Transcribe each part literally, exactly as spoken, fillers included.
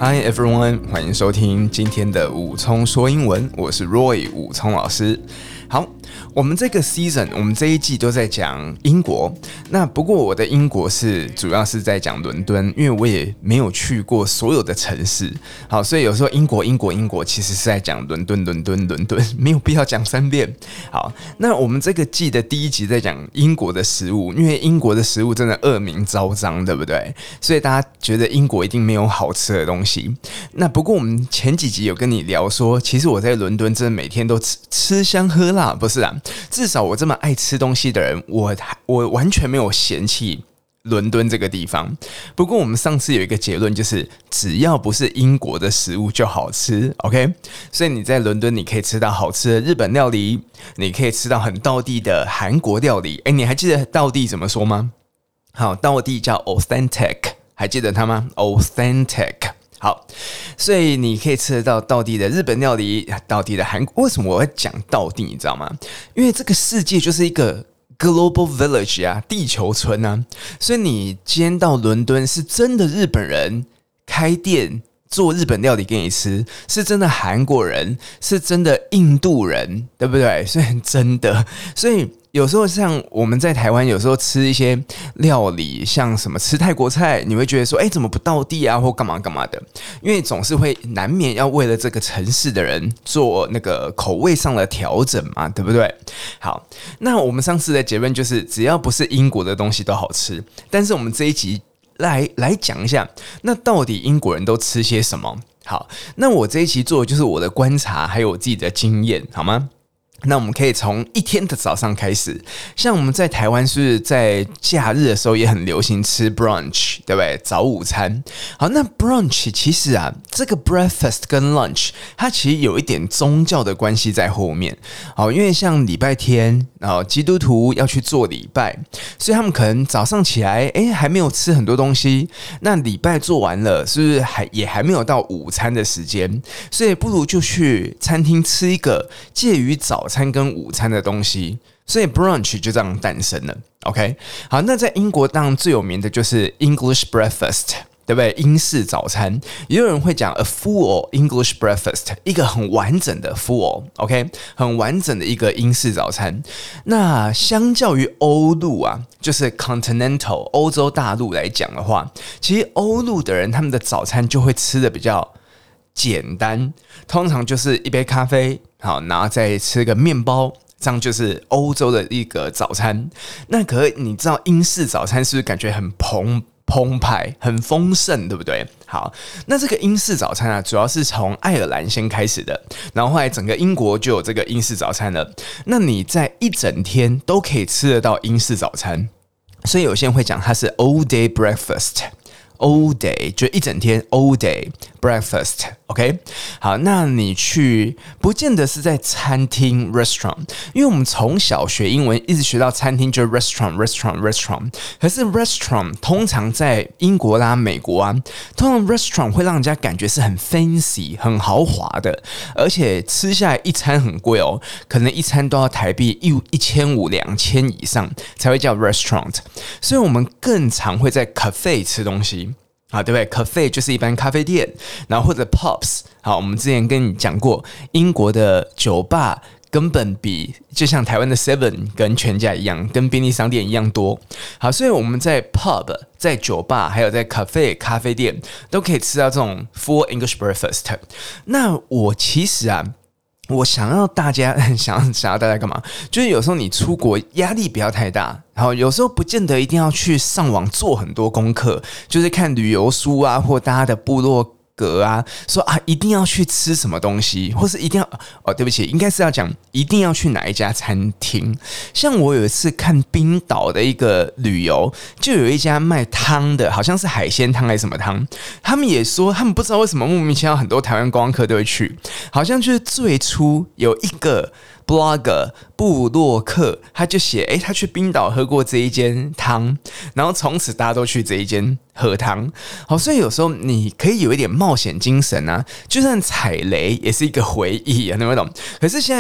Hi everyone， 歡迎收聽今天的武聰說英文，我是 Roy 武聰老師。好，我們這個 season， 我們這一季都在講英國。那不過我的英國是主要是在講倫敦，因為我也沒有去過所有的城市。好，所以有時候英國、英國、英國其實是在講倫敦、倫敦、倫敦，沒有必要講三遍。好，那我們這個季的第一集在講英國的食物，因為英國的食物真的惡名昭彰，對不對？所以大家覺得英國一定沒有好吃的東西。那不過我們前幾集有跟你聊說，其實我在倫敦真的每天都吃吃香喝辣。不是啊，至少我這麼愛吃東西的人，我我完全沒有嫌棄倫敦這個地方。不過我們上次有一個結論，就是只要不是英國的食物就好吃 ，OK？ 所以你在倫敦你可以吃到好吃的日本料理，你可以吃到很道地的韓國料理。哎，你還記得道地怎麼說嗎？好，道地叫 authentic， 還記得它嗎 ？authentic。好，所以你可以吃得到道地的日本料理，道地的韓國。為什麼我會講道地？你知道嗎？因為這個世界就是一個 global village 啊，地球村啊。所以你今天到倫敦，是真的日本人開店做日本料理給你吃，是真的韓國人，是真的印度人，對不對？所以真的，所以。有時候像我們在台灣，有時候吃一些料理，像什麼吃泰國菜，你會覺得說，哎，怎麼不道地啊，或幹嘛幹嘛的？因為總是會難免要為了這個城市的人做那個口味上的調整嘛，對不對？好，那我們上次的結論就是，只要不是英國的東西都好吃。但是我們這一集來來講一下，那到底英國人都吃些什麼？好，那我這一期做的就是我的觀察，還有我自己的經驗，好嗎？那我們可以從一天的早上開始，像我們在台灣是在假日的時候也很流行吃 brunch， 對不對？早午餐。好，那 brunch 其實啊，這個 breakfast 跟 lunch 它其實有一點宗教的關係在後面。好，因為像禮拜天，然後基督徒要去做禮拜，所以他們可能早上起來，哎，還沒有吃很多東西。那禮拜做完了，是不是還也還沒有到午餐的時間？所以不如就去餐廳吃一個介於早餐跟午餐的東西，所以 brunch 就這樣誕生了。OK， 好，那在英國當然最有名的就是 English breakfast， 對不對？英式早餐，也有人會講 a full English breakfast， 一個很完整的 full，OK， 很完整的一個英式早餐。那相較於歐陸啊，就是 continental 歐洲大陸來講的話，其實歐陸的人他們的早餐就會吃的比較簡單，通常就是一杯咖啡，好，然後再吃個麵包，這樣就是歐洲的一個早餐。那可是你知道英式早餐是不是感覺很澎澎湃、很豐盛，對不對？好，那這個英式早餐啊，主要是從愛爾蘭先開始的，然後後來整個英國就有這個英式早餐了。那你在一整天都可以吃得到英式早餐，所以有些人會講它是 all day breakfast。All day 就一整天 ，all day breakfast，OK？、Okay? 好，那你去不見得是在餐廳 restaurant， 因為我們從小學英文一直學到餐廳就是 restaurant，restaurant，restaurant。可是 restaurant 通常在英國啦、美國啊，通常 restaurant 會讓人家感覺是很 fancy、很豪華的，而且吃下來一餐很貴哦，可能一餐都要台幣一一千五、兩千以上才會叫 restaurant。所以我們更常會在 cafe 吃東西。好，對不對 ？Cafe 就是一般咖啡店，然後或者 pubs。好，我們之前跟你講過，英國的酒吧根本比就像台灣的 Seven 跟全家一樣，跟便利商店一樣多。好，所以我們在 pub、在酒吧，還有在 cafe 咖啡店，都可以吃到這種 full English breakfast。那我其實啊。我想要大家想要想要大家幹嘛？就是有時候你出國壓力不要太大，然後有時候不見得一定要去上網做很多功課，就是看旅遊書啊，或大家的部落格啊，說啊一定要去吃什麼東西，或是一定要哦，對不起，應該是要講一定要去哪一家餐廳。像我有一次看冰島的一個旅遊，就有一家賣湯的，好像是海鮮湯還是什麼湯，他們也說他們不知道為什麼莫名其妙很多台灣觀光客都會去，好像就是最初有一個blogger 部落客，他就寫，哎，他去冰島喝過這一間湯，然後從此大家都去這一間喝湯。好，所以有時候你可以有一點冒險精神啊，就算踩雷也是一個回憶啊，能不能懂？可是現在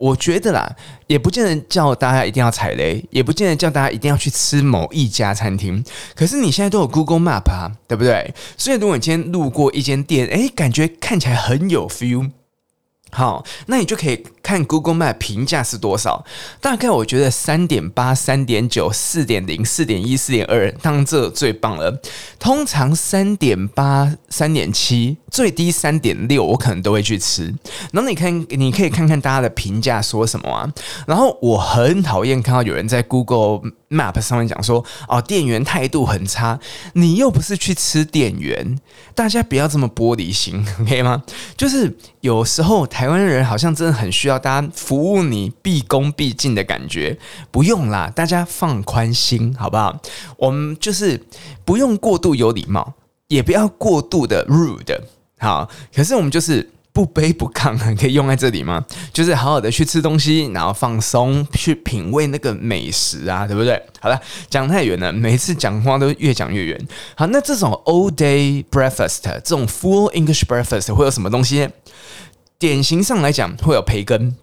我覺得啦，也不見得叫大家一定要踩雷，也不見得叫大家一定要去吃某一家餐廳。可是你現在都有 Google Map 啊，對不對？所以如果你今天路過一間店，誒，感覺看起來很有 feel。好，那你就可以看 Google Map 評價是多少。大概我覺得 三點八、三點九、四點零、四點一、四點二，當然這最棒了。通常 三點八、三點七，最低 三點六，我可能都會去吃。然後你看，你可以看看大家的評價說什麼啊。然後我很討厭看到有人在 Google Map 上面講說，哦，店員態度很差。你又不是去吃店員，大家不要這麼玻璃心 ，OK 嗎？就是有時候台灣人好像真的很需要大家服務你畢恭畢敬的感覺，不用啦，大家放寬心好不好？我們就是不用過度有禮貌，也不要過度的 rude， 好，可是我們就是不卑不亢，可以用在這裡嗎？就是好好的去吃東西，然後放鬆去品味那個美食啊，對不對？好了，講太遠了，每次講話都越講越遠。好，那這種 all day breakfast， 這種 full English breakfast 會有什麼東西？典型上來講，會有培根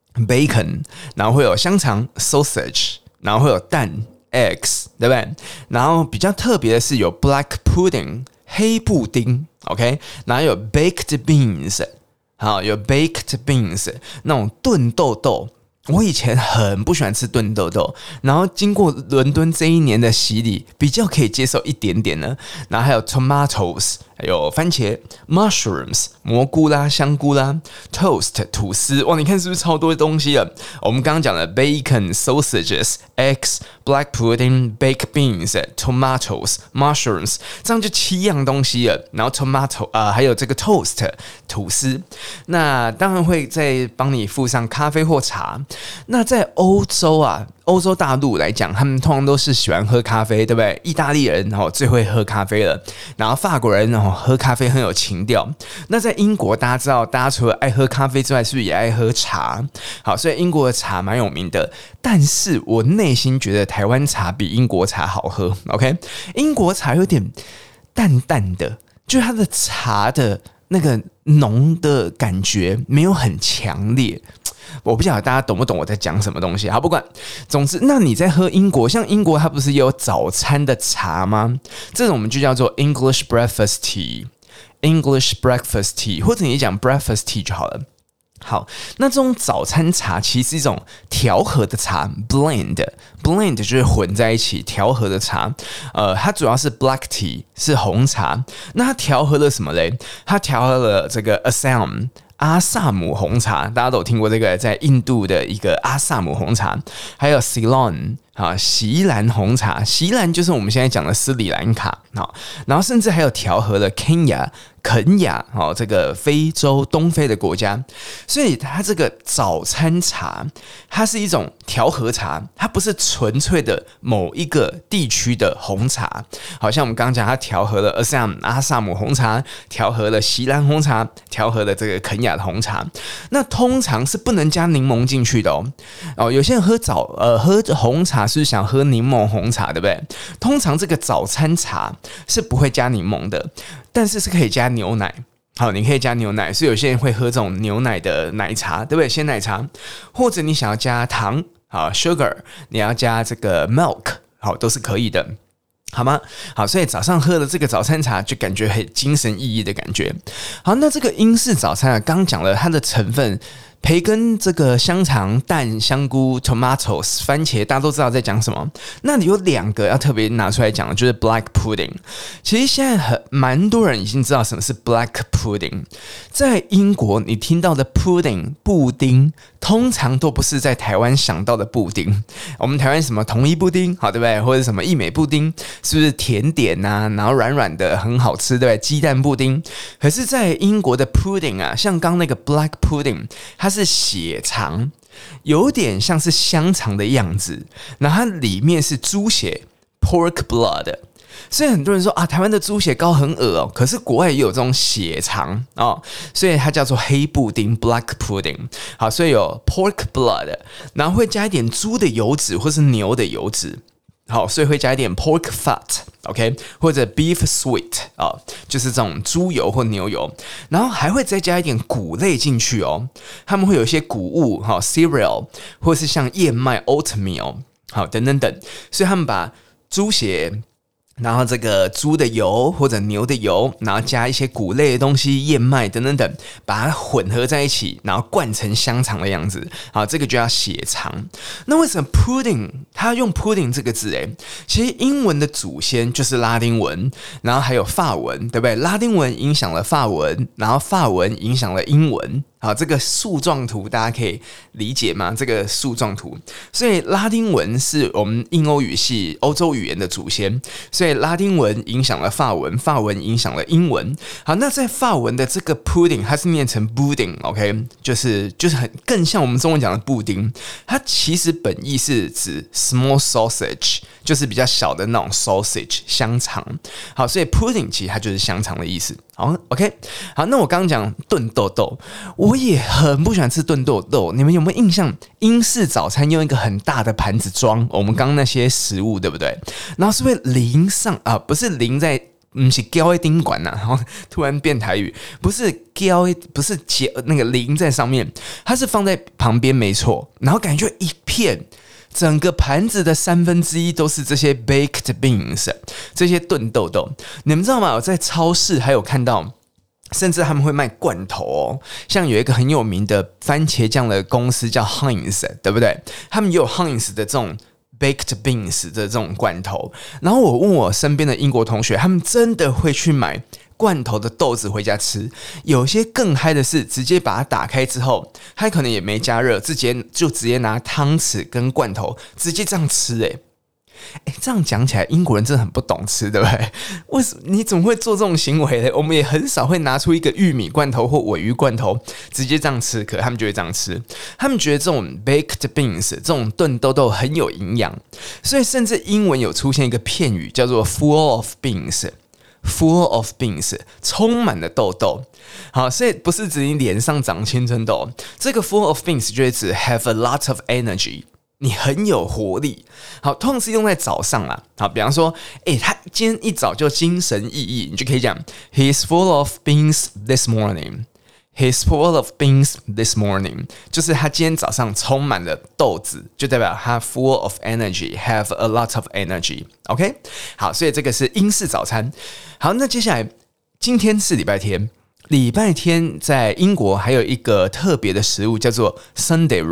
bacon， 然後會有香腸 sausage， 然後會有蛋 eggs， 對不對？然後比較特別的是有 black pudding 黑布丁 ，OK， 然後有 baked beans， 好，有 baked beans 那種燉豆豆。我以前很不喜歡吃燉豆豆，然後經過倫敦這一年的洗禮，比較可以接受一點點了。然後還有 tomatoes， 還有番茄 mushrooms 蘑菇啦、香菇啦 toast 吐司，哇，你看是不是超多東西了？我們剛剛講的 bacon sausages eggs black pudding baked beans tomatoes mushrooms， 這樣就七樣東西了。然後 tomato 啊、呃，還有這個 toast 吐司，那當然會再幫你附上咖啡或茶。那在歐洲啊，歐洲大陸來講，他們通常都是喜歡喝咖啡，對不對？意大利人然後最會喝咖啡了，然後法國人然後喝咖啡很有情調。那在英國，大家知道，大家除了愛喝咖啡之外，是不是也愛喝茶？好，所以英國的茶蠻有名的。但是我內心覺得台灣茶比英國茶好喝。OK， 英國茶有點淡淡的，就是它的茶的那個濃的感覺沒有很強烈。我不曉得大家懂不懂我在講什麼東西。好，不管，總之，那你在喝英國，像英國它不是也有早餐的茶嗎？這種我們就叫做 English breakfast tea，English breakfast tea， 或者你講 breakfast tea 就好了。好，那這種早餐茶其實是一種調和的茶 ，blend blend 就是混在一起調和的茶。呃，它主要是 black tea 是紅茶，那它調和了什麼嘞？它調和了這個 Assam。阿薩姆紅茶，大家都有聽過這個，在印度的一個阿薩姆紅茶，還有 Ceylon 啊，錫蘭紅茶，錫蘭就是我們現在講的斯里蘭卡，好，然後甚至還有調和了 Kenya。肯亞，哦，這個非洲東非的國家，所以它這個早餐茶，它是一種調和茶，它不是純粹的某一個地區的紅茶。好像我們剛剛講，它調和了 Assam 阿薩姆紅茶，調和了錫蘭紅茶，調和了這個肯亞的紅茶。那通常是不能加檸檬進去的哦。哦，有些人喝早呃喝紅茶是想喝檸檬紅茶，對不對？通常這個早餐茶是不會加檸檬的。但是是可以加牛奶，好，你可以加牛奶，所以有些人會喝這種牛奶的奶茶，對不對？鮮奶茶，或者你想要加糖，好 ，sugar， 你要加這個 milk， 好，都是可以的，好嗎？好，所以早上喝的這個早餐茶就感覺很精神奕奕的感覺。好，那這個英式早餐啊，剛講了它的成分。培根、這個香腸、蛋、香菇、tomatoes、番茄，大家都知道在講什麼。那裡有兩個要特別拿出來講的，就是 black pudding。其實現在很蠻多人已經知道什麼是 black pudding。在英國，你聽到的 pudding 布丁，通常都不是在台灣想到的布丁。我們台灣什麼統一布丁，好對不對？或者什麼義美布丁，是不是甜點啊？然後軟軟的，很好吃，對不對？雞蛋布丁。可是，在英國的 pudding 啊，像剛那個 black pudding，它是血腸，有點像是香腸的樣子，然後它裡面是豬血 （pork blood），所以很多人說啊，台灣的豬血糕很惡哦，可是國外也有這種血腸哦，所以它叫做黑布丁 （black pudding）。好，所以有 pork blood，然後會加一點豬的油脂或是牛的油脂。 好，所以會加一點 pork fat，OK，、okay? 或者 beef sweet 啊、哦，就是這種豬油或牛油，然後還會再加一點穀類進去哦。他們會有一些穀物，哈、哦、cereal， 或是像燕麥 oatmeal， 好，等等等。所以他們把豬血，然後這個豬的油或者牛的油，然後加一些穀類的東西，燕麥等等等，把它混合在一起，然後灌成香腸的樣子。好，這個就叫血腸。那為什麼 pudding 它用 pudding 這個字？誒，其實英文的祖先就是拉丁文，然後還有法文，對不對？拉丁文影響了法文，然後法文影響了英文。好，這個樹狀圖大家可以理解嗎？這個樹狀圖，所以拉丁文是我們印歐語系歐洲語言的祖先，所以拉丁文影響了法文，法文影響了英文。好，那在法文的這個 pudding， 它是念成 pudding，OK， 就是就是很更像我們中文講的布丁。它其實本意是指 small sausage， 就是比較小的那種 sausage 香腸。好，所以 pudding 其實它就是香腸的意思。好 ，OK， 好，那我剛剛講燉豆豆，我也很不喜歡吃燉豆豆。你們有沒有印象？英式早餐用一個很大的盤子裝我們剛剛那些食物，對不對？然後是會淋上啊，不是淋在，不是澆在丁管吶。然後突然變台語，不是澆，不是結那個淋在上面，它是放在旁邊，沒錯。然後感覺一片。整個盤子的三分之一都是這些 baked beans， 這些燉豆豆。你們知道嗎？我在超市還有看到，甚至他們會賣罐頭哦。像有一個很有名的番茄醬的公司叫 Heinz， 對不對？他們也有 Heinz 的這種 baked beans 的這種罐頭。然後我問我身邊的英國同學，他們真的會去買罐頭的豆子回家吃，有些更嗨的是直接把它打開之後，它可能也沒加熱，直接就直接拿湯匙跟罐頭直接這樣吃、欸，哎，這樣講起來，英國人真的很不懂吃，對不對？為什麼你怎麼會做這種行為呢？我們也很少會拿出一個玉米罐頭或鮪魚罐頭直接這樣吃，可他們就會這樣吃。他們覺得這種 baked beans 這種燉豆豆很有營養，所以甚至英文有出現一個片語叫做 full of beans。Full of beans， 充滿了豆豆。好，所以不是指你臉上長青春痘，這個 full of beans 就會指 have a lot of energy， 你很有活力。好，通常是用在早上啦。好，比方說，哎、欸，他今天一早就精神奕奕，你就可以講 He's full of beans this morning。He's full of beans this morning， 就是他今天早上充滿了豆子，就代表他 full of energy， have a lot of energy。OK， 好，所以這個是英式早餐。好，那接下來今天是禮拜天，禮拜天在英國還有一個特別的食物叫做 Sunday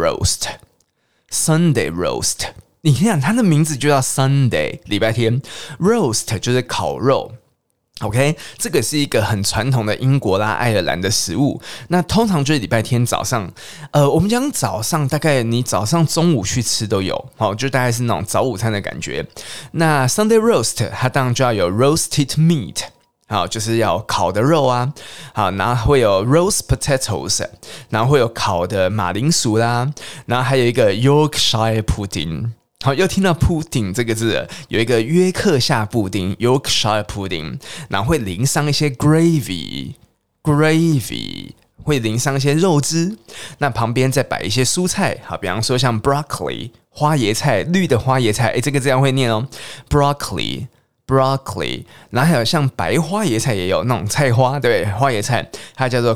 roast。Sunday roast， 你看它的名字就叫 Sunday， 禮拜天 ，roast 就是烤肉。OK， 這個是一個很傳統的英國啦、愛爾蘭的食物。那通常就是禮拜天早上，呃，我們講早上，大概你早上、中午去吃都有，好，就大概是那種早午餐的感覺。那 Sunday roast 它當然就要有 roasted meat， 好，就是要烤的肉啊，好，然後會有 roast potatoes， 然後會有烤的馬鈴薯啦，然後還有一個 Yorkshire pudding。好，又聽到 pudding 這個字了，有一個約克夏布丁 Yorkshire pudding， 然後會淋上一些 gravy gravy， 會淋上一些肉汁，那旁邊再擺一些蔬菜，好，比方說像 broccoli 花椰菜，綠的花椰菜，誒，這個這樣會念哦 broccoli broccoli， 然後還有像白花椰菜也有那種菜花，對，花椰菜，它叫做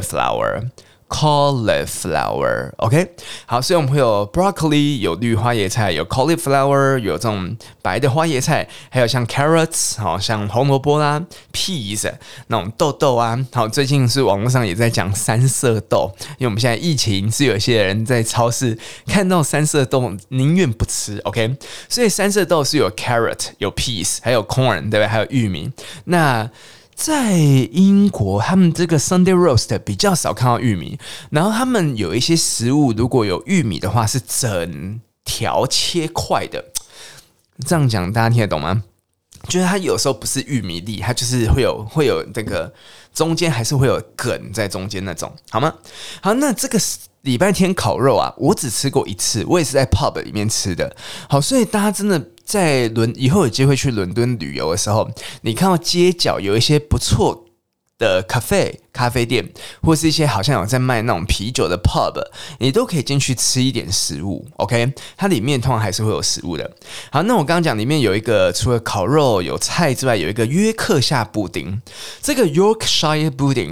cauliflower。cauliflower，OK，、okay? 好，所以我們會有 broccoli， 有綠花椰菜，有 cauliflower， 有這種白的花椰菜，還有像 carrots， 好，像紅蘿蔔啦 ，peas 那種豆豆啊。好，最近是網絡上也在講三色豆，因為我們現在疫情，是有些人在超市看到三色豆寧願不吃 ，OK？ 所以三色豆是有 carrot， 有 peas， 還有 corn， 對不對？還有玉米。那在英國，他們這個 Sunday roast 比較少看到玉米，然後他們有一些食物如果有玉米的話，是整條切塊的。這樣講大家聽得懂嗎？就是它有時候不是玉米粒，它就是會有會有這個中間還是會有梗在中間那種，好嗎？好，那這個禮拜天烤肉啊，我只吃過一次，我也是在 pub 裡面吃的。好，所以大家真的在倫以後有機會去倫敦旅遊的時候，你看到街角有一些不錯的 cafe 咖啡店，或是一些好像有在賣那種啤酒的 pub， 你都可以進去吃一點食物 ，OK？ 它裡面通常還是會有食物的。好，那我剛剛講裡面有一個除了烤肉有菜之外，有一個約克夏布丁。這個 Yorkshire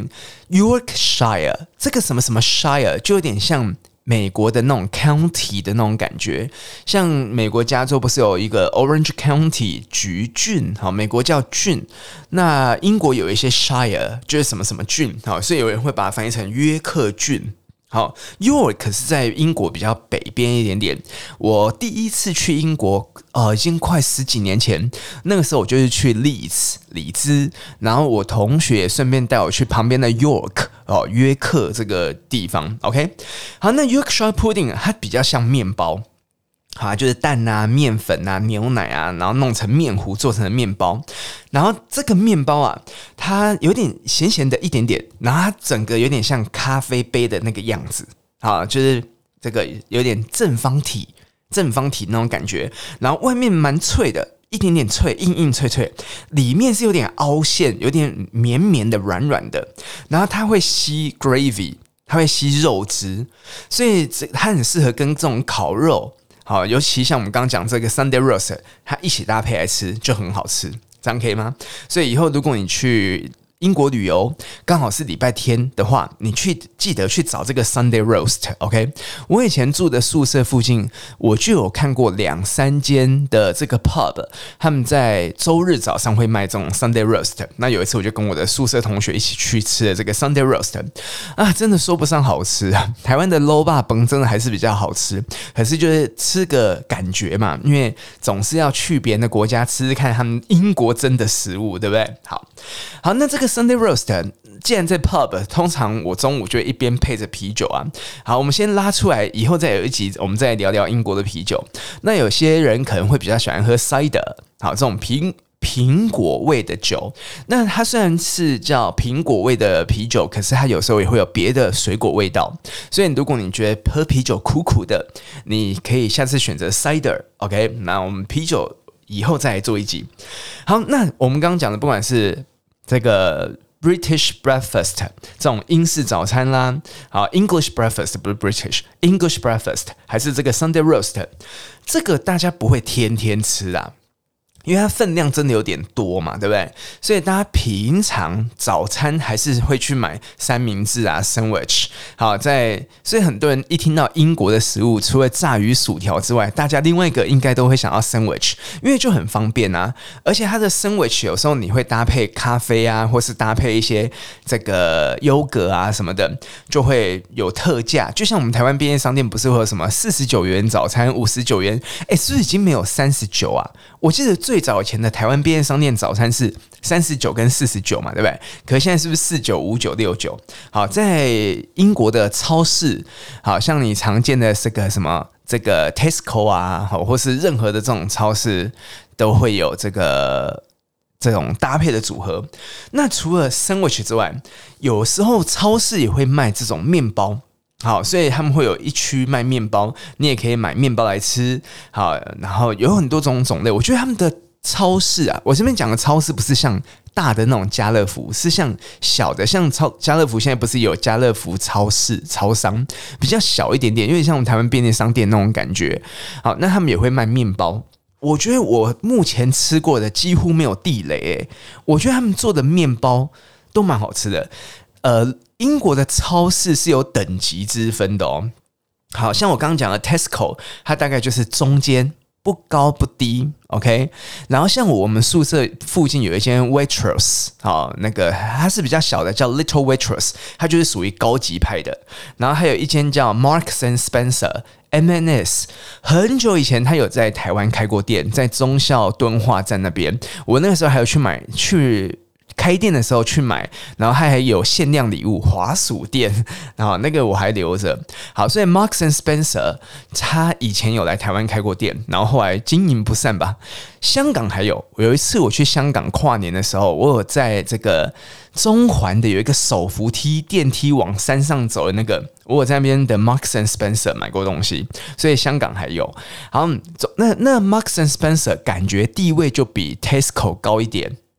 pudding，Yorkshire 這個什麼什麼 shire 就有點像美國的那種 county 的那種感覺，像美國加州不是有一個 Orange County 橘郡，好，美國叫郡，那英國有一些 shire 就是什麼什麼郡，好，所以有人會把它翻譯成約克郡。好 ，York 是在英國比較北邊一點點。我第一次去英國，呃，已經快十幾年前。那個時候我就是去 Leeds 里茲，然後我同學也順便帶我去旁邊的 York 哦，約克這個地方。OK， 好，那 Yorkshire pudding 它比較像麵包。好，就是蛋啊、麵粉啊、牛奶啊，然後弄成麵糊做成的麵包。然後這個麵包啊，它有點鹹鹹的一點點，然後它整個有點像咖啡杯的那個樣子。好，就是這個有點正方體、正方體那種感覺。然後外面蠻脆的，一點點脆，硬硬脆脆。裡面是有點凹陷，有點綿綿的、軟軟的。然後它會吸 gravy， 它會吸肉汁，所以它很適合跟這種烤肉。好，尤其像我們剛剛講這個 Sunday roast， 它一起搭配來吃就很好吃，這樣可以嗎？所以以後如果你去英國旅遊，剛好是禮拜天的話，你去記得去找這個 Sunday roast。OK， 我以前住的宿舍附近，我就有看過兩三間的這個 pub， 他們在周日早上會賣這種 Sunday roast。那有一次我就跟我的宿舍同學一起去吃了這個 Sunday roast， 啊，真的說不上好吃啊。台灣的滷肉飯真的還是比較好吃，可是就是吃個感覺嘛，因為總是要去別人的國家吃吃看他們英國真的食物，對不對？好，好，那這個。Sunday roast， 既然在 pub， 通常我中午就會一邊配着啤酒啊。好，我們先拉出來，以後再有一集，我們再來聊聊英國的啤酒。那有些人可能會比較喜歡喝 cider， 好，這種蘋蘋果味的酒。那它雖然是叫蘋果味的啤酒，可是它有時候也會有別的水果味道。所以如果你覺得喝啤酒苦苦的，你可以下次選擇 cider。OK， 那我們啤酒以後再來做一集。好，那我們剛剛講的，不管是這個 British breakfast 這種英式早餐啦，好 English breakfast 不是 British English breakfast， 還是這個 Sunday roast， 這個大家不會天天吃啊。因為它分量真的有點多嘛，對不對？所以大家平常早餐還是會去買三明治啊 ，sandwich。好，在所以很多人一聽到英國的食物，除了炸魚薯條之外，大家另外一個應該都會想要 sandwich， 因為就很方便啊。而且它的 sandwich 有時候你會搭配咖啡啊，或是搭配一些這個優格啊什麼的，就會有特價。就像我們台灣便利商店不是會有什麼四十九元早餐、五十九元？哎，是不是已經沒有三十九啊？我記得最早以前的台灣便利商店早餐是三十九跟四十九嘛，對不對？可是現在是不是四九、五九、六九？好，在英國的超市，好像你常見的這個什麼這個 Tesco 啊，或是任何的這種超市都會有這個這種搭配的組合。那除了 sandwich 之外，有時候超市也會賣這種麵包。好，所以他們會有一區賣麵包，你也可以買麵包來吃。好，然後有很多種種類。我覺得他們的超市啊，我這邊講的超市不是像大的那種家樂福，是像小的，像超家樂福現在不是有家樂福超市、超商，比較小一點點，有點像我們台灣便利商店那種感覺。好，那他們也會賣麵包。我覺得我目前吃過的幾乎沒有地雷誒，我覺得他們做的麵包都蠻好吃的。呃，英國的超市是有等級之分的哦。好像我剛剛講的 Tesco， 它大概就是中間，不高不低 ，OK。然後像我們宿舍附近有一間 Waitrose， 好，那個它是比較小的，叫 Little Waitrose， 它就是屬於高級派的。然後還有一間叫 Marks and Spencer。M and S 很久以前，他有在台灣開過店，在忠孝敦化站那邊。我那個時候還有去買去。開店的時候去買，然後它還有限量禮物滑鼠墊，然後那個我還留着。好，所以 Marks and Spencer 他以前有來台灣開過店，然後後來經營不善吧。香港還有，有一次我去香港跨年的時候，我有在這個中環的有一個手扶梯電梯往山上走的那個，我有在那邊的 Marks and Spencer 買過東西，所以香港還有。好，那那 Marks and Spencer 感覺地位就比 Tesco 高一點。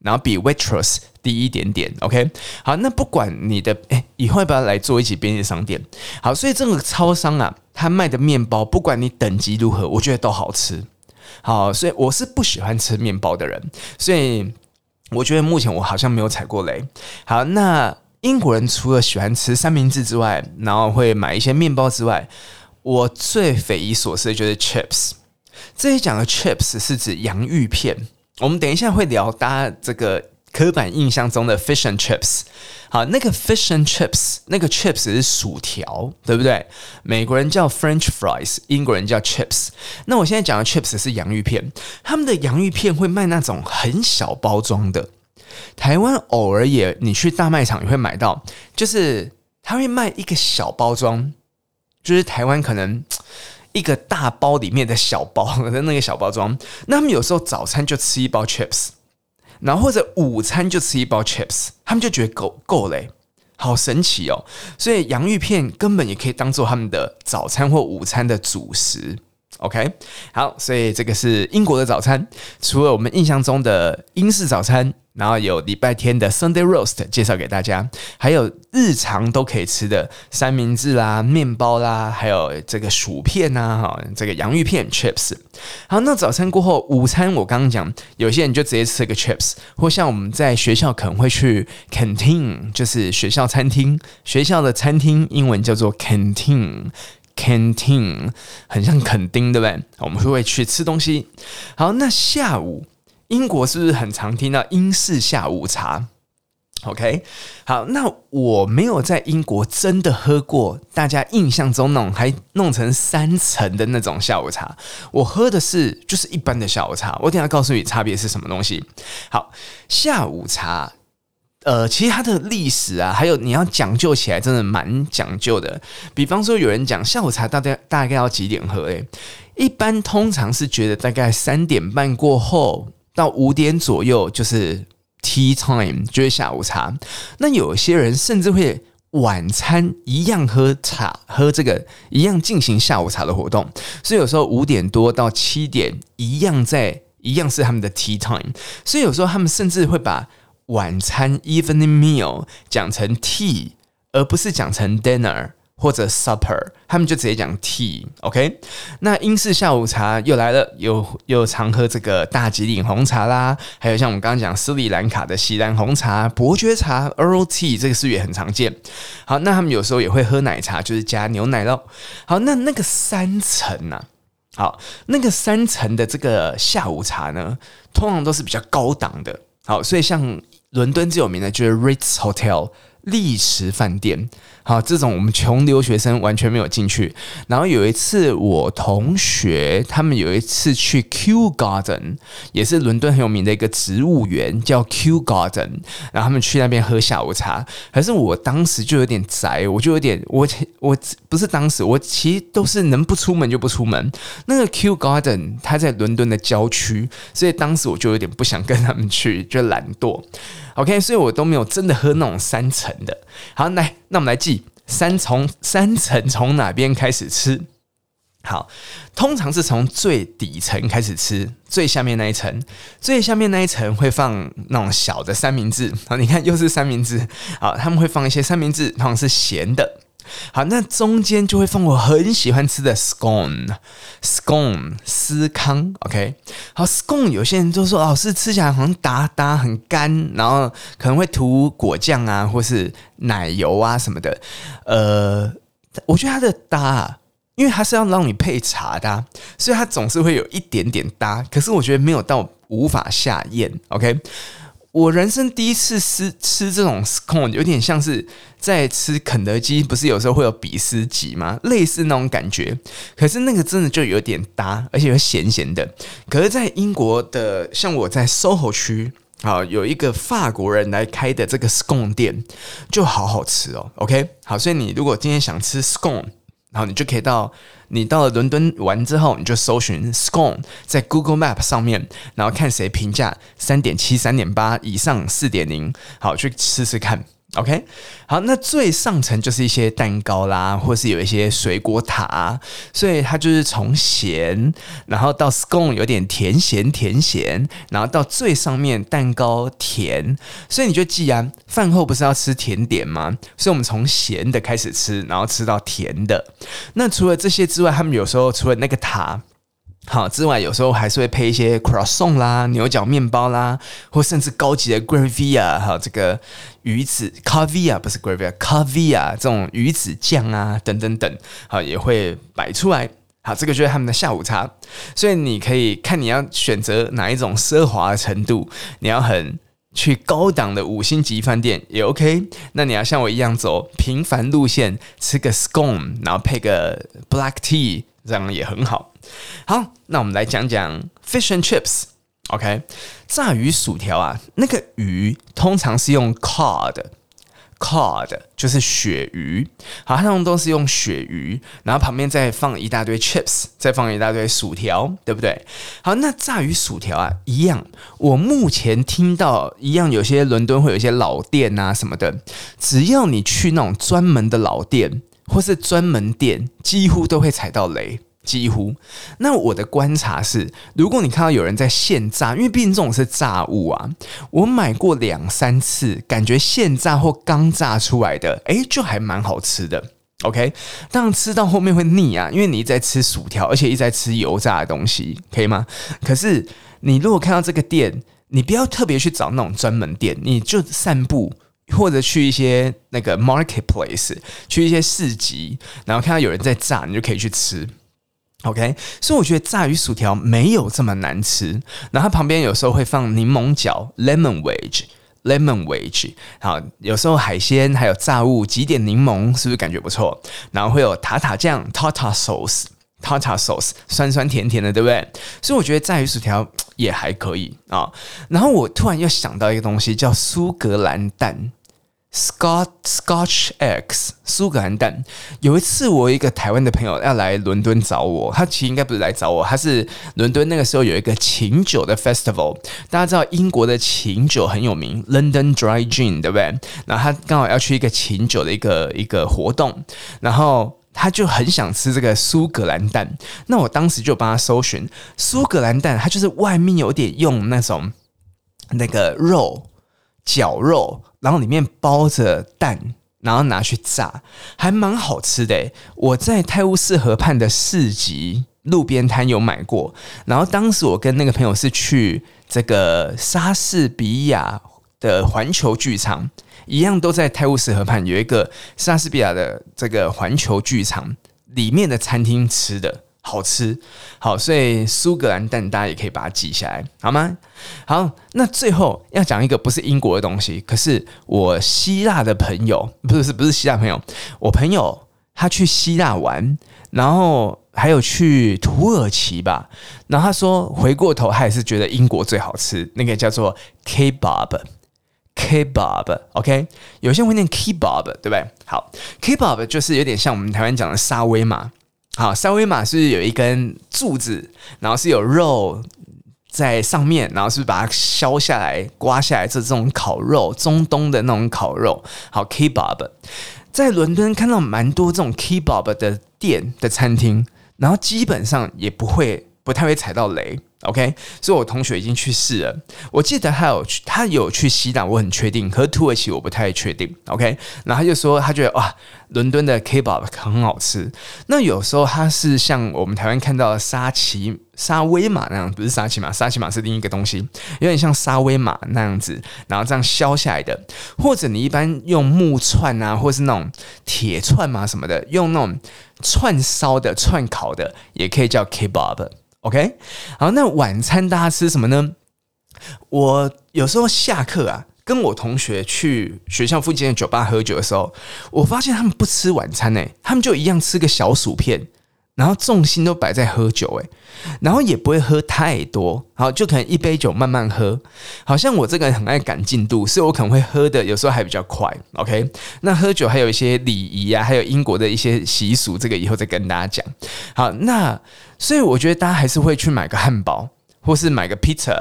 然後比 Waitrose 低一點點 ，OK。好，那不管你的，哎，以後要不要來做一集便利商店？好，所以這個超商啊，他賣的麵包，不管你等級如何，我覺得都好吃。好，所以我是不喜歡吃麵包的人，所以我覺得目前我好像沒有踩過雷。好，那英國人除了喜歡吃三明治之外，然後會買一些麵包之外，我最匪夷所思的就是 chips。這裡講的 chips 是指洋芋片。我們等一下會聊大家這個刻板印象中的 fish and chips。好，那個 fish and chips， 那個 chips 是薯條，對不對？美國人叫 French fries， 英國人叫 chips。那我現在講的 chips 是洋芋片，他們的洋芋片會賣那種很小包裝的。台灣偶爾也，你去大賣場也會買到，就是他會賣一個小包裝，就是台灣可能一個大包裡面的小包的那個小包裝，那他們有時候早餐就吃一包 chips， 然後或者午餐就吃一包 chips， 他們就覺得夠夠嘞，好神奇哦！所以洋芋片根本也可以當做他們的早餐或午餐的主食。OK， 好，所以這個是英國的早餐，除了我們印象中的英式早餐，然後有禮拜天的 Sunday Roast 介紹給大家，還有日常都可以吃的三明治啦、麵包啦，還有這個薯片啊，這個洋芋片 chips。好，那早餐過後，午餐我剛剛講，有些人就直接吃個 chips， 或像我們在學校可能會去 canteen， 就是學校餐廳，學校的餐廳英文叫做 canteen。Canteen 很像墾丁，對不對？我們會去吃東西。好，那下午英國是不是很常聽到英式下午茶 ？OK， 好，那我沒有在英國真的喝過大家印象中那種還弄成三層的那種下午茶，我喝的是就是一般的下午茶。我等一下告訴你差別是什麼東西。好，下午茶。呃，其實它的歷史啊，還有你要講究起來，真的蠻講究的。比方說，有人講下午茶大概大概要幾點喝？誒，一般通常是覺得大概三點半過後到五點左右就是 tea time， 就是下午茶。那有些人甚至會晚餐一樣喝茶，喝這個一樣進行下午茶的活動。所以有時候五點多到七點一樣在一樣是他們的 tea time。所以有時候他們甚至會把晚餐 evening meal 講成 tea， 而不是講成 dinner 或者 supper， 他們就直接講 tea。OK， 那英式下午茶又來了，又又常喝這個大吉嶺紅茶啦，還有像我們剛剛講斯里蘭卡的錫蘭紅茶、伯爵茶 Earl Tea， 這個是不是也很常見？好，那他們有時候也會喝奶茶，就是加牛奶咯。好，那那個三層啊，好，那個三層的這個下午茶呢，通常都是比較高檔的。好，所以像倫敦最有名的就是 Ritz Hotel 麗池飯店。好，這種我們窮留學生完全沒有進去。然後有一次我同學他們有一次去 Kew Garden， 也是倫敦很有名的一個植物園，叫 Kew Garden， 然後他們去那邊喝下午茶。可是我當時就有點宅，我就有點我我不是當時我其實都是能不出門就不出門。那個 Kew Garden 它在倫敦的郊區，所以當時我就有點不想跟他們去，就懶惰。OK， 所以我都沒有真的喝那種三層的。好，來，那我們來記三從三層從哪邊開始吃？好，通常是從最底層開始吃，最下面那一層，最下面那一層會放那種小的三明治。好，你看又是三明治。好，他們會放一些三明治，通常是鹹的。好，那中間就會放我很喜歡吃的 scone scone 司康 OK， 好 scone 有些人都說老師吃起來好像打打很乾，然後可能會塗果醬啊或是奶油啊什麼的。呃，我覺得它的搭，因為它是要讓你配茶的、啊，所以它總是會有一點點搭，可是我覺得沒有到無法下咽 OK。我人生第一次吃吃這種 scone， 有點像是在吃肯德基，不是有時候會有比斯吉嗎？類似那種感覺。可是那個真的就有點搭，而且又鹹鹹的。可是，在英國的，像我在 S O H O 區，好有一個法國人來開的這個 scone 店，就好好吃哦。OK， 好，所以你如果今天想吃 scone， 然後你就可以到。你到了倫敦玩之後，你就搜尋 scone 在 Google Map 上面，然後看誰評價三點七、三點八以上、四點零，好去吃吃看。 OK， 好，那最上層就是一些蛋糕啦，或是有一些水果塔，所以它就是從鹹，然後到 scone 有點甜鹹甜鹹，然後到最上面蛋糕甜，所以你就記啊，飯後不是要吃甜點嗎？所以我們從鹹的開始吃，然後吃到甜的。那除了這些之外，他們有時候除了那個塔好之外，有時候還是會配一些 croissant 啦、牛角麵包啦，或甚至高級的 gravia， 還有這個魚子 caviar 不是 gravia caviar 這種魚子醬啊等等等，好也會擺出來。好，這個就是他們的下午茶。所以你可以看你要選擇哪一種奢華的程度，你要很去高檔的五星級飯店也 OK， 那你要像我一樣走平凡路線，吃個 scone， 然後配個 black tea， 這樣也很好。好，那我們來講講 fish and chips。OK， 炸魚薯條啊，那個魚通常是用 cod。cod 就是鱈魚，好，它通常都是用鱈魚，然後旁邊再放一大堆 chips， 再放一大堆薯條，對不對？好，那炸魚薯條啊，一樣，我目前聽到一樣，有些倫敦會有一些老店啊什麼的，只要你去那種專門的老店或是專門店，幾乎都會踩到雷。幾乎，那我的觀察是，如果你看到有人在現炸，因為畢竟這種是炸物啊，我買過兩三次，感覺現炸或剛炸出來的，誒，就還蠻好吃的。OK， 當然吃到後面會膩啊，因為你一直在吃薯條，而且一直在吃油炸的東西，可以嗎？可是你如果看到這個店，你不要特別去找那種專門店，你就散步。或者去一些那個 marketplace， 去一些市集，然後看到有人在炸，你就可以去吃。OK， 所以我覺得炸魚薯條沒有這麼難吃。然後它旁邊有時候會放檸檬角 （lemon wedge），lemon wedge。好，有時候海鮮還有炸物，擠點檸檬，是不是感覺不錯？然後會有塔塔醬 （tartar sauce），tartar sauce， 酸酸甜甜的，對不對？所以我覺得炸魚薯條也還可以啊。然後我突然又想到一個東西，叫蘇格蘭蛋。Scotch Scotch eggs， 蘇格蘭蛋。有一次，我有一個台灣的朋友要來倫敦找我，他其實應該不是來找我，他是倫敦那個時候有一個琴酒的 festival。大家知道英國的琴酒很有名 ，London Dry Gin， 對不對？然後他剛好要去一個琴酒的一個一個活動，然後他就很想吃這個蘇格蘭蛋。那我當時就幫他搜尋蘇格蘭蛋，它就是外面有點用那種那個肉絞肉。然後裡面包着蛋，然後拿去炸，還蠻好吃的。我在泰晤士河畔的市集路邊攤有買過。然後當時我跟那個朋友是去這個莎士比亞的環球劇場，一樣都在泰晤士河畔有一個莎士比亞的這個環球劇場裡面的餐廳吃的。好吃，好，所以蘇格蘭蛋大家也可以把它記下來，好嗎？好，那最後要講一個不是英國的東西，可是我希臘的朋友，不是不是希臘朋友，我朋友他去希臘玩，然後還有去土耳其吧，然後他說回過頭他也是覺得英國最好吃，那個叫做 kebab。Kebab，OK， 有些人會念 kebab， 對不對？好 ，kebab 就是有點像我們台灣講的沙威瑪。好，沙威瑪是有一根柱子，然後是有肉在上面，然後是不是把它削下來、刮下來，這這種烤肉，中東的那種烤肉。好 ，kebab， 在倫敦看到蠻多這種 kebab 的店的餐廳，然後基本上也不會不太會踩到雷。OK， 所以我同學已經去試了。我記得他有去，他有去希臘，我很確定。可是土耳其我不太確定。OK， 然後他就說他覺得哇，倫敦的 Kebab 很好吃。那有時候他是像我們台灣看到的沙琪沙威瑪那樣，不是沙琪瑪，沙琪瑪是另一個東西，有點像沙威瑪那樣子，然後這樣削下來的。或者你一般用木串啊，或是那種鐵串嘛什麼的，用那種串燒的、串烤的，也可以叫 Kebab。OK， 好，那晚餐大家吃什麼呢？我有時候下課啊，跟我同學去學校附近的酒吧喝酒的時候，我發現他們不吃晚餐誒，他們就一樣吃個小薯片，然後重心都擺在喝酒誒，然後也不會喝太多，好，就可能一杯酒慢慢喝。好像我這個人很愛趕進度，所以我可能會喝的有時候還比較快。OK， 那喝酒還有一些禮儀啊，還有英國的一些習俗，這個以後再跟大家講。好，那所以我覺得大家還是會去買個漢堡，或是買個 pizza，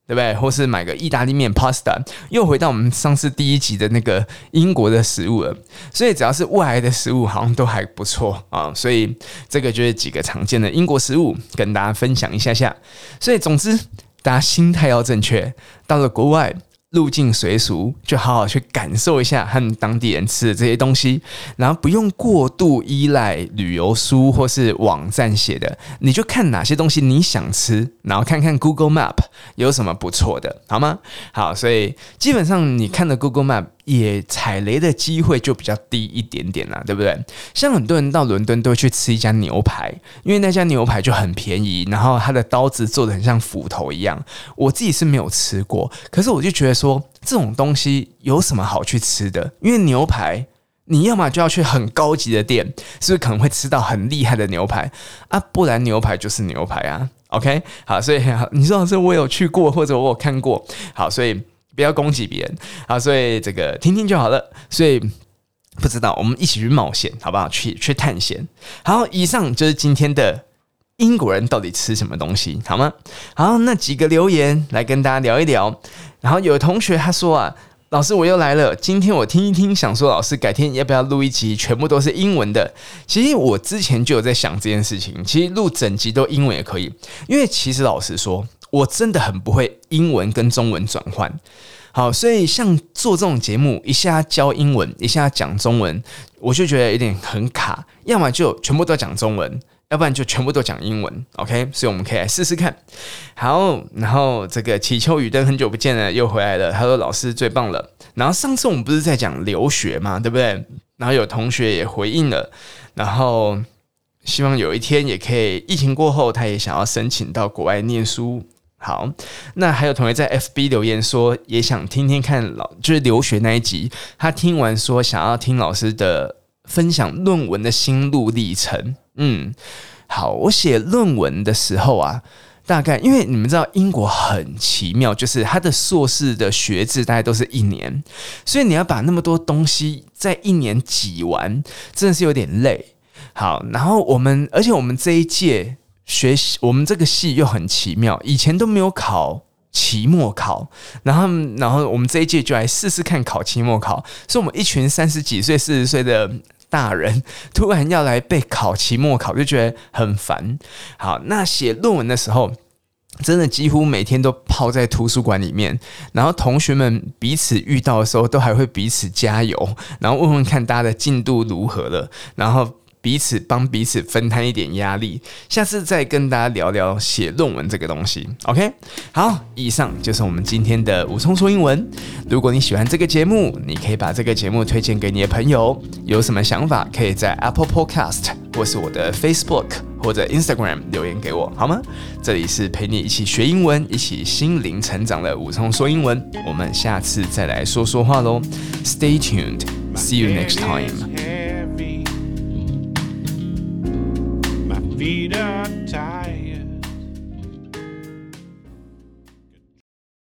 對不對？或是買個意大利麵 pasta， 又回到我們上次第一集的那個英國的食物了。所以只要是外來的食物，好像都還不錯啊。所以這個就是幾個常見的英國食物，跟大家分享一下下。所以總之，大家心態要正確，到了國外，入境隨俗，就好好去感受一下和當地人吃的這些東西，然後不用過度依賴旅遊書或是網站寫的，你就看哪些東西你想吃，然後看看 Google Map 有什麼不錯的，好嗎？好，所以基本上你看的 Google Map 也踩雷的機會就比較低一點點啦，對不對？像很多人到倫敦都會去吃一家牛排，因為那家牛排就很便宜，然後它的刀子做得很像斧頭一樣。我自己是沒有吃過，可是我就覺得說這種東西有什麼好去吃的？因為牛排你要麼就要去很高級的店，是不是可能會吃到很厲害的牛排啊？不然牛排就是牛排啊。OK， 好，所以你說老師我有去過或者我有看過，好，所以不要攻擊別人，好，所以這個聽聽就好了。所以不知道，我們一起去冒險，好不好？去去探險。好，以上就是今天的英國人到底吃什麼東西，好嗎？好，那幾個留言來跟大家聊一聊。然後有同學他說啊，老師我又來了，今天我聽一聽，想說老師改天要不要錄一集全部都是英文的？其實我之前就有在想這件事情，其實錄整集都英文也可以，因為其實老實說，我真的很不會英文跟中文轉換。好，所以像做這種節目，一下教英文，一下講中文，我就覺得有點很卡，要麼就全部都講中文，要不然就全部都講英文 ，OK？ 所以我們可以來試試看。好，然後這個祈秋雨燈很久不見了，又回來了。他說老師最棒了。然後上次我們不是在講留學嘛，對不對？然後有同學也回應了，然後希望有一天也可以，疫情過後他也想要申請到國外念書。好，那還有同學在 F B 留言說，也想聽聽看老就是留學那一集，他聽完說想要聽老師的分享論文的心路歷程。嗯，好，我寫論文的時候啊，大概因為你們知道英國很奇妙，就是他的碩士的學制大概都是一年，所以你要把那麼多東西在一年擠完，真的是有點累。好，然後我們而且我們這一屆學習，我們這個系又很奇妙，以前都沒有考期末考，然後然後我們這一屆就來試試看考期末考，所以我們一群三十幾歲、四十歲的大人突然要來被考期末考，就覺得很煩。好，那寫論文的時候，真的幾乎每天都泡在圖書館裡面，然後同學們彼此遇到的時候，都還會彼此加油，然後問問看大家的進度如何了，然後彼此幫彼此分攤一點壓力，下次再跟大家聊聊寫論文這個東西。OK， 好，以上就是我們今天的武聰說英文。如果你喜歡這個節目，你可以把這個節目推薦給你的朋友。有什麼想法，可以在 Apple Podcast 或是我的 Facebook 或者 Instagram 留言給我，好嗎？這裡是陪你一起學英文、一起心靈成長的武聰說英文。我們下次再來說說話嘍。Stay tuned. See you next time. Feet are tired.